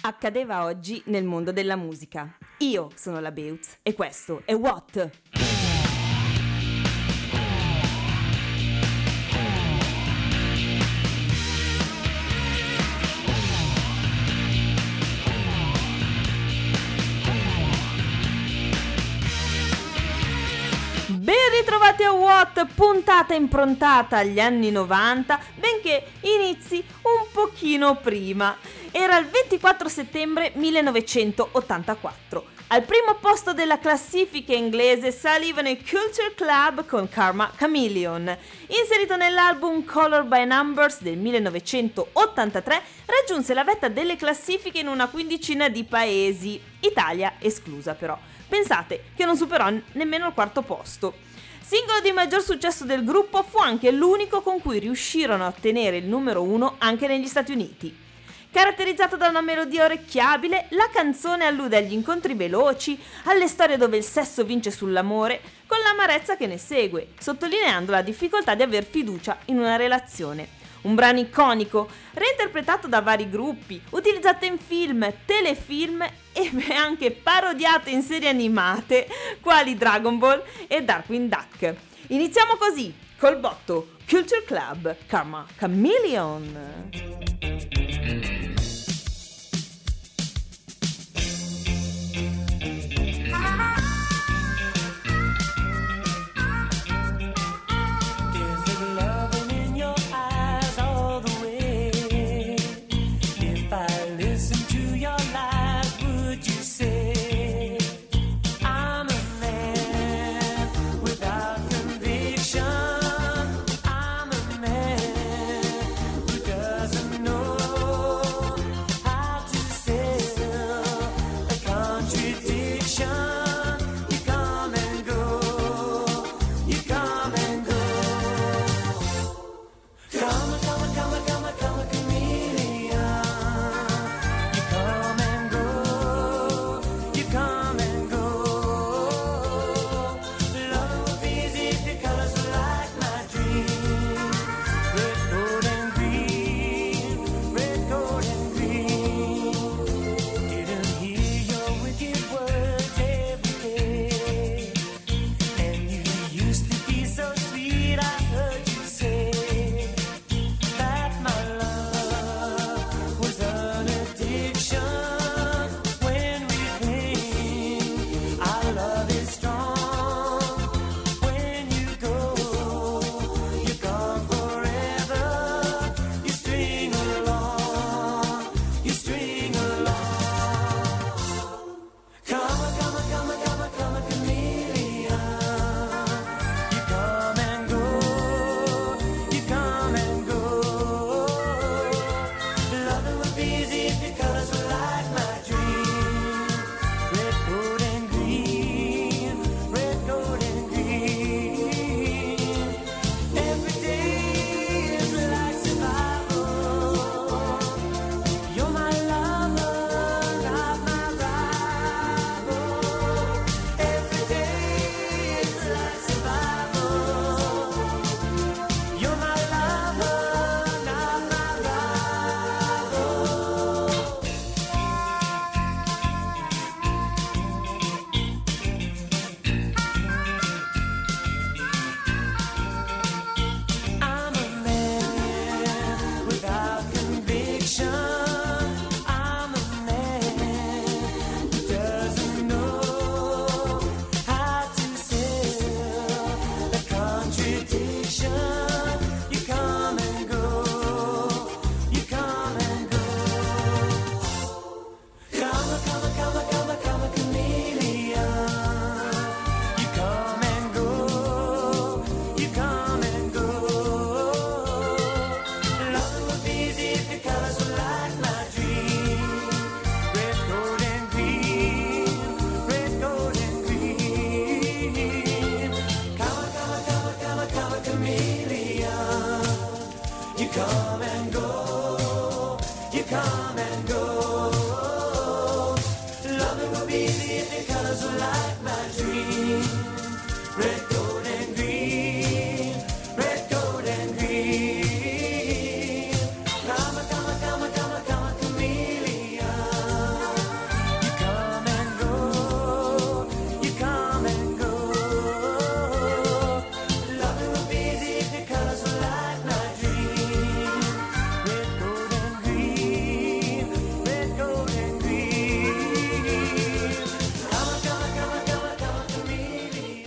Accadeva oggi nel mondo della musica. Io sono la Beutz e questo è What? Ben ritrovati a What, puntata improntata agli anni 90, benché inizi un pochino prima. Era il 24 settembre 1984. Al primo posto della classifica inglese salivano i Culture Club con Karma Chameleon. Inserito nell'album Color by Numbers del 1983, raggiunse la vetta delle classifiche in una quindicina di paesi, Italia esclusa però. Pensate che non superò nemmeno il quarto posto. Singolo di maggior successo del gruppo, fu anche l'unico con cui riuscirono a ottenere il numero 1 anche negli Stati Uniti. Caratterizzato da una melodia orecchiabile, la canzone allude agli incontri veloci, alle storie dove il sesso vince sull'amore, con l'amarezza che ne segue, sottolineando la difficoltà di aver fiducia in una relazione. Un brano iconico, reinterpretato da vari gruppi, utilizzato in film, telefilm e anche parodiato in serie animate, quali Dragon Ball e Darkwing Duck. Iniziamo così, col botto, Culture Club, Karma Chameleon.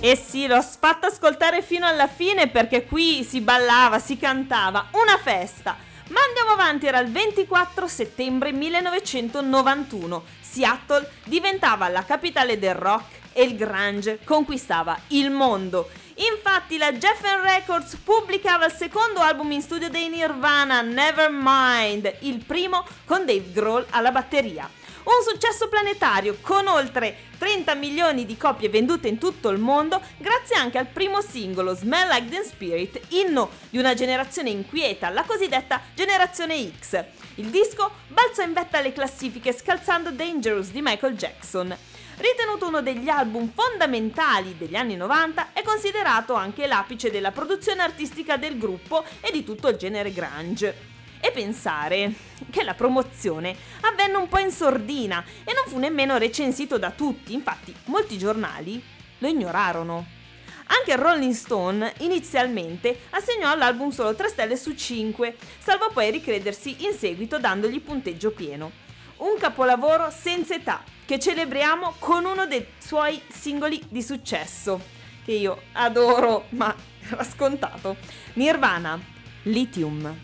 Eh sì, l'ho fatto ascoltare fino alla fine perché qui si ballava, si cantava, una festa. Ma andiamo avanti, era il 24 settembre 1991. Seattle diventava la capitale del rock e il grunge conquistava il mondo. Infatti la Geffen Records pubblicava il secondo album in studio dei Nirvana, Nevermind, il primo con Dave Grohl alla batteria. Un successo planetario con oltre 30 milioni di copie vendute in tutto il mondo, grazie anche al primo singolo Smell Like Teen Spirit, inno di una generazione inquieta, la cosiddetta generazione X. Il disco balzò in vetta alle classifiche scalzando Dangerous di Michael Jackson. Ritenuto uno degli album fondamentali degli anni 90, è considerato anche l'apice della produzione artistica del gruppo e di tutto il genere grunge. E pensare che la promozione avvenne un po' in sordina e non fu nemmeno recensito da tutti, infatti molti giornali lo ignorarono. Anche il Rolling Stone inizialmente assegnò all'album solo 3 stelle su 5, salvo poi ricredersi in seguito dandogli punteggio pieno. Un capolavoro senza età che celebriamo con uno dei suoi singoli di successo, che io adoro, ma era scontato. Nirvana, Lithium.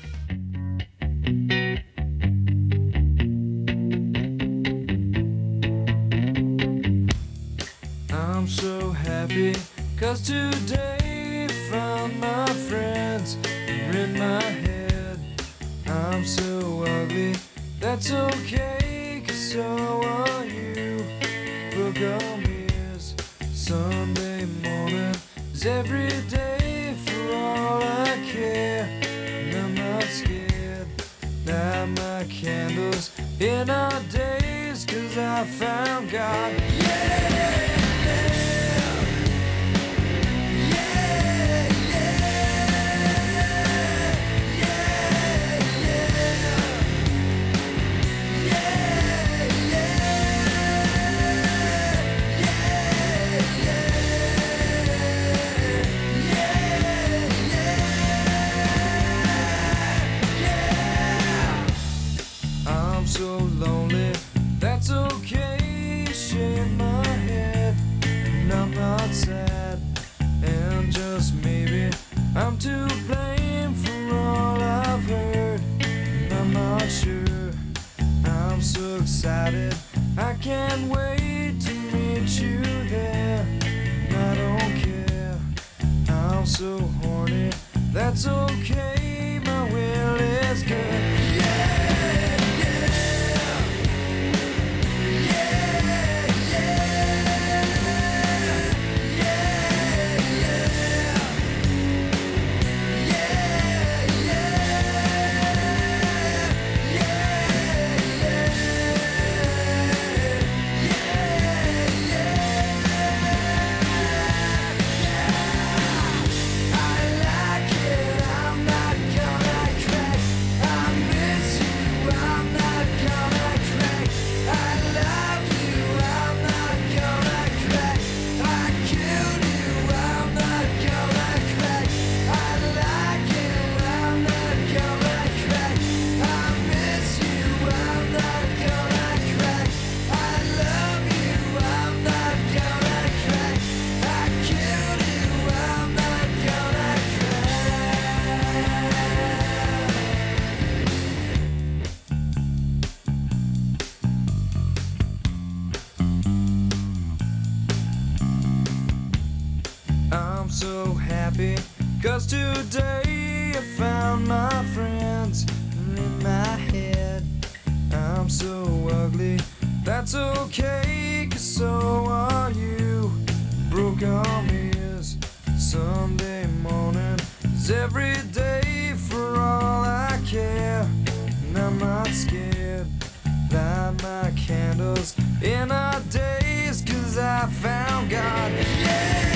I'm so happy, 'cause today found my friends are in my head. I'm so ugly, that's okay, 'cause so are you. Book on ears, Sunday morning is every day for all I care. And I'm not scared, light my candles in our days, 'cause I found God. Yeah! So lonely, that's okay, shake my head, and I'm not sad, and just maybe I'm to blame for all I've heard, and I'm not sure, I'm so excited, I can't wait to meet you there, and I don't care, I'm so horny, that's okay, my will is good. I'm so happy, 'cause today I found my friends in my head. I'm so ugly, that's okay, 'cause so are you. Broke arm is Sunday morning is every day for all I care. And I'm not scared, light my candles in our days, 'cause I found God. Yeah!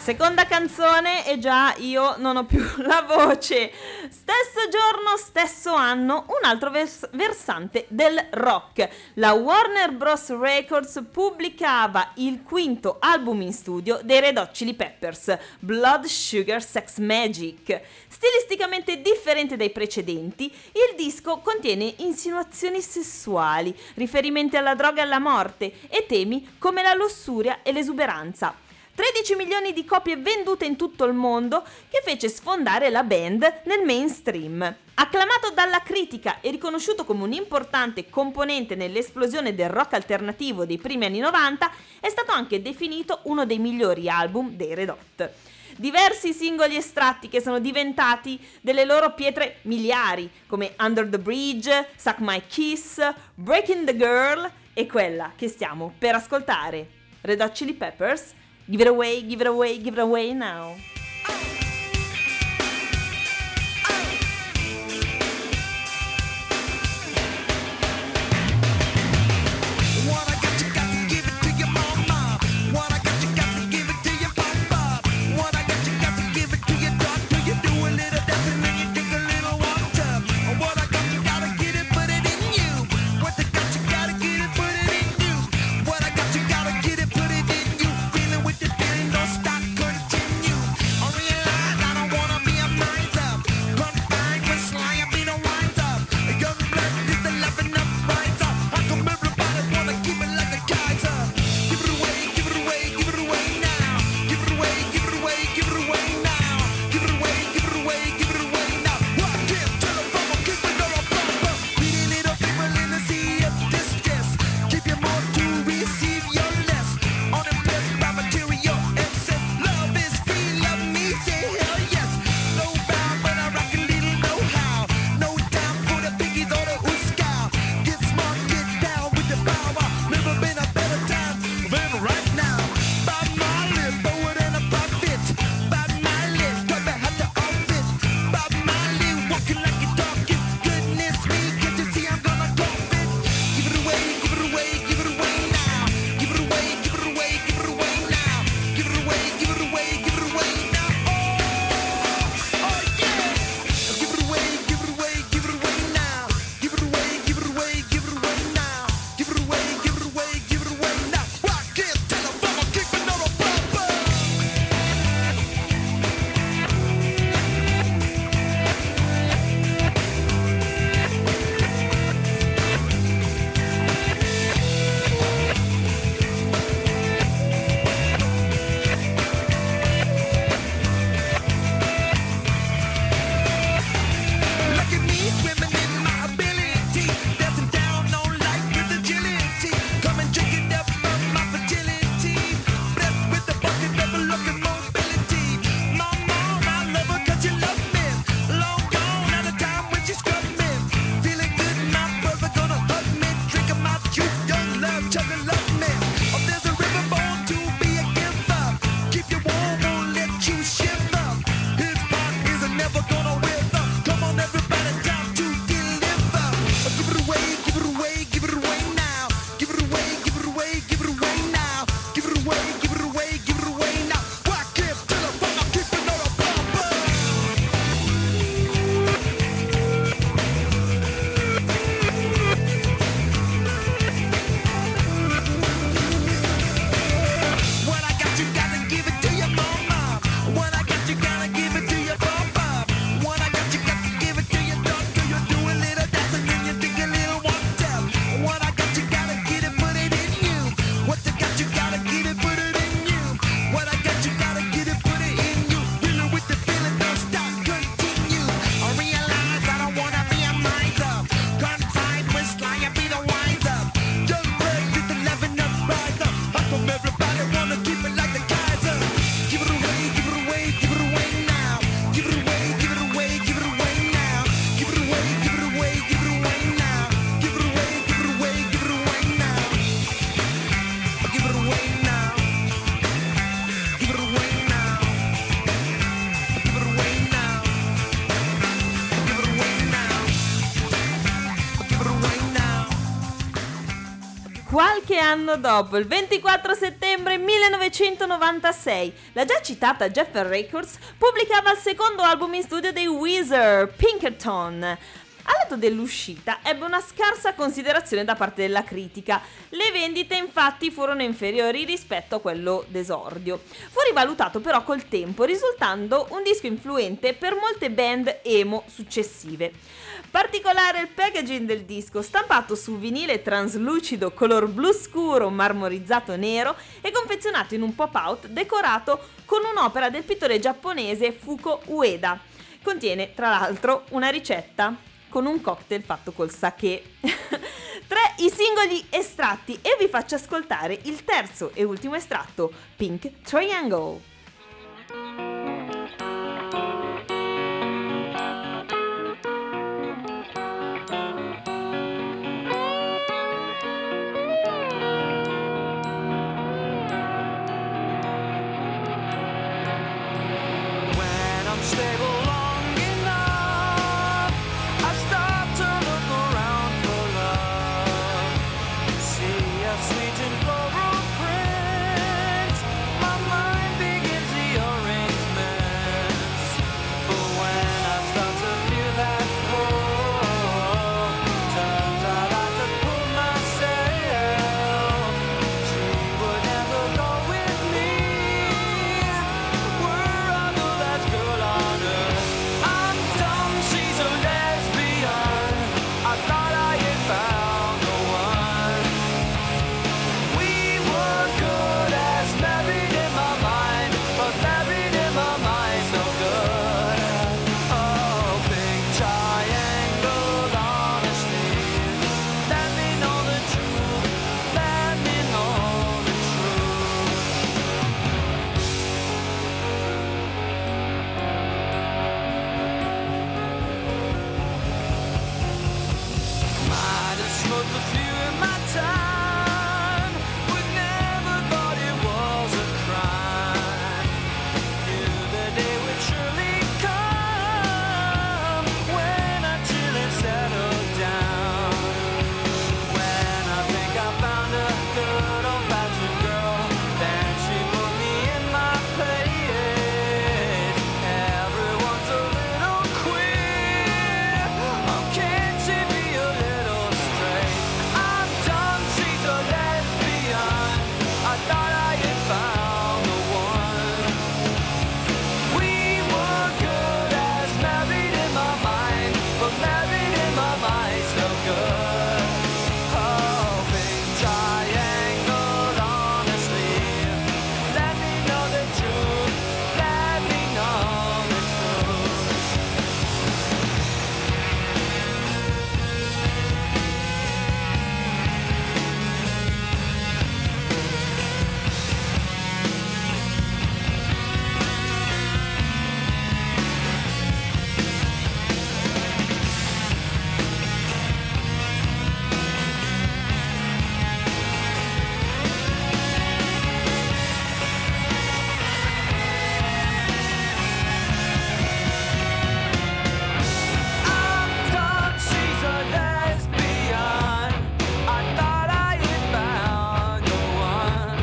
Seconda canzone e già io non ho più la voce. Stesso giorno, stesso anno, un altro versante del rock. La Warner Bros. Records pubblicava il quinto album in studio dei Red Hot Chili Peppers, Blood Sugar Sex Magik. Stilisticamente differente dai precedenti, il disco contiene insinuazioni sessuali, riferimenti alla droga e alla morte e temi come la lussuria e l'esuberanza. 13 milioni di copie vendute in tutto il mondo, che fece sfondare la band nel mainstream. Acclamato dalla critica e riconosciuto come un importante componente nell'esplosione del rock alternativo dei primi anni 90, è stato anche definito uno dei migliori album dei Red Hot. Diversi singoli estratti che sono diventati delle loro pietre miliari, come Under the Bridge, Suck My Kiss, Breaking the Girl e quella che stiamo per ascoltare, Red Hot Chili Peppers, Give it away, give it away, give it away now. Qualche anno dopo, il 24 settembre 1996, la già citata Geffen Records pubblicava il secondo album in studio dei Weezer, Pinkerton. All'atto dell'uscita ebbe una scarsa considerazione da parte della critica. Le vendite infatti furono inferiori rispetto a quello d'esordio. Fu rivalutato però col tempo, risultando un disco influente per molte band emo successive. Particolare il packaging del disco, stampato su vinile translucido color blu scuro marmorizzato nero e confezionato in un pop-out decorato con un'opera del pittore giapponese Fuko Ueda. Contiene tra l'altro una ricetta con un cocktail fatto col sake. Tra i singoli estratti, e vi faccio ascoltare il terzo e ultimo estratto, Pink Triangle. When I'm stable long enough, I stop to look around for love. See a sweet and floral print, my mind begins the arrangements. But when I start to feel that pull, turns out I just pull myself. She would never go with me. We're on the last girl on earth. I'm dumb, she's a lesbian. I thought I had found the one. We were good as married in my mind, but married in my mind so good. Oh, big triangle on a sleeve. Let me know the truth. Let me know the truth. Might have smoked a few in my time, but never thought it was a crime. Knew the day would surely come when I chill and settle down. When I think I found a good old-fashioned girl, then she put me in my place. Everyone's a little queer. Oh, can't she be a little straight? I'm done, she's a lesbian. I thought I had found the one. We were good as married in my mind, but married in my mind so good. Oh, big triangle on a sleeve. Let me know the truth. Let me know the truth. I'm done, she's a lesbian. I thought I had found the one.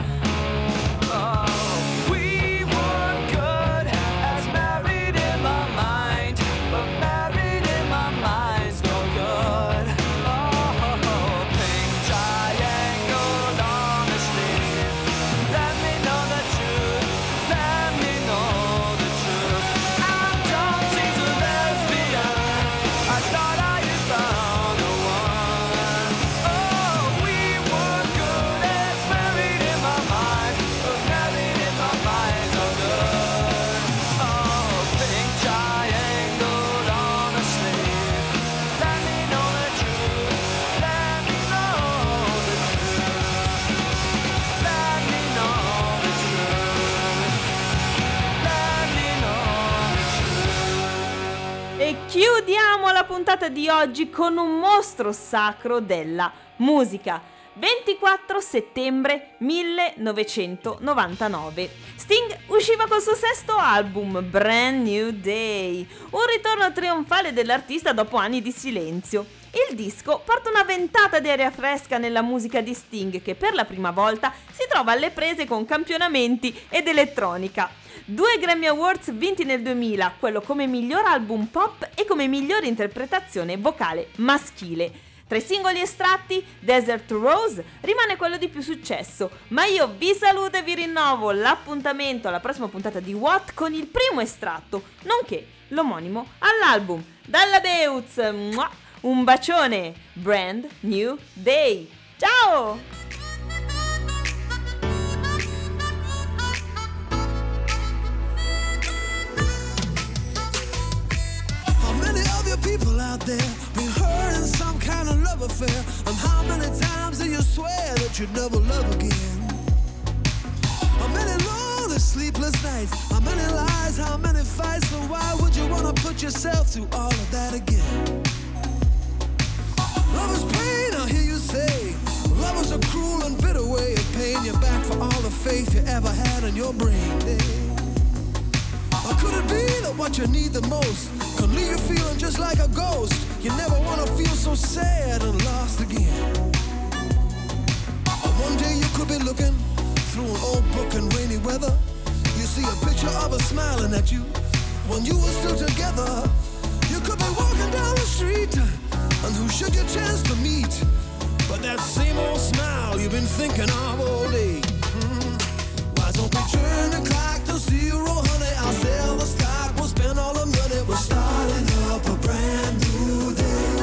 Oh, we were good as married in my mind, but married in my mind so good. Oh, pink triangle on a sleeve. Let me know the truth. Let me know the truth. I'm done, she's a lesbian. I thought I had found the one. Oh, we were good as married in my mind, but married in my mind so good. Oh, pink triangle on a sleeve. Let me know the truth. Let me know the truth. Let me know the truth. Let me know the truth. E chiudiamo la puntata di oggi con un mostro sacro della musica. 24 settembre 1999. Sting usciva col suo sesto album, Brand New Day, un ritorno trionfale dell'artista dopo anni di silenzio. Il disco porta una ventata di aria fresca nella musica di Sting, che per la prima volta si trova alle prese con campionamenti ed elettronica. 2 Grammy Awards vinti nel 2000, quello come miglior album pop e come migliore interpretazione vocale maschile. Tra i singoli estratti, Desert Rose rimane quello di più successo, ma io vi saluto e vi rinnovo l'appuntamento alla prossima puntata di What con il primo estratto, nonché l'omonimo all'album. Dalla Beutz, un bacione, Brand New Day. Ciao! People out there been hurt in some kind of love affair, and how many times do you swear that you'd never love again? How many lonely sleepless nights, how many lies, how many fights, so why would you wanna put yourself through all of that again? Love is pain, I hear you say. Love is a cruel and bitter way of paying you back for all the faith you ever had in your brain. Or could it be that what you need the most could leave you feeling just like a ghost? You never want to feel so sad and lost again. Or one day you could be looking through an old book in rainy weather. You see a picture of her smiling at you when you were still together. You could be walking down the street, and who should you chance to meet but that same old smile you've been thinking of all day? Why don't we turn the clock to 0, honey? I'll sell the stock, we'll spend all the money. We're starting up a brand new day.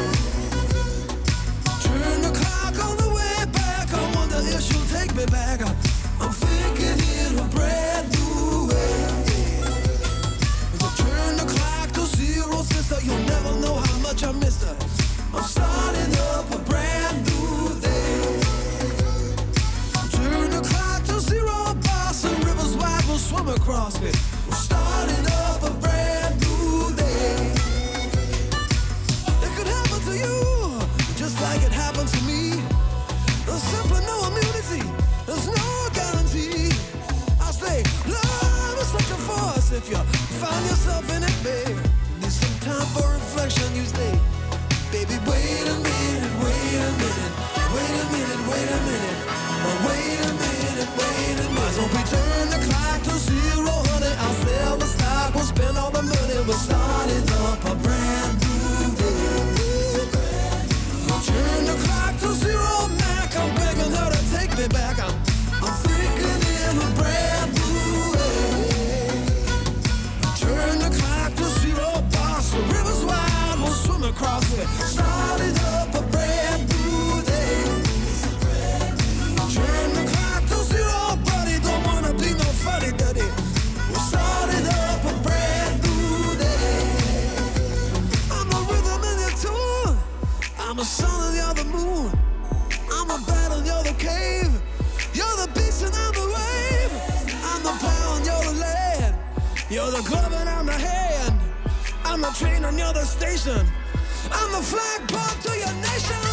Turn the clock on the way back, I wonder if she'll take me back. I'm thinking in a brand new way. We'll turn the clock to 0, sister, you'll never know how much I missed her. I'm starting up a brand new day. Turn the clock to 0, boss, and rivers wide will swim across me. We're starting up a brand new day. It could happen to you, just like it happened to me. There's simply no immunity, there's no guarantee. I say, love is such a force. If you find yourself in it, babe, need some time for reflection, you say, baby, wait a minute, wait a minute, wait a minute, wait a minute. Wait a minute, wait a minute. Why don't we turn the clock to 0, honey? I'll sell the stock, we'll spend all the money. We're starting up a brand new day. Turn the clock to 0, Mac. I'm begging her to take me back. I'm thinking in a brand new way. Turn the clock to 0, boss. The river's wide, we'll swim across it. Starting up a brand new day. Turn the clock to 0, buddy. Don't wanna be no funny duddy. We're starting up a brand new day. I'm the rhythm and your tune. I'm the sun and you're the moon. I'm the battle and you're the cave. You're the beast and I'm the wave. I'm the plow and you're the land. You're the glove and I'm the hand. I'm the train and you're the station. I'm the flagpole to your nation.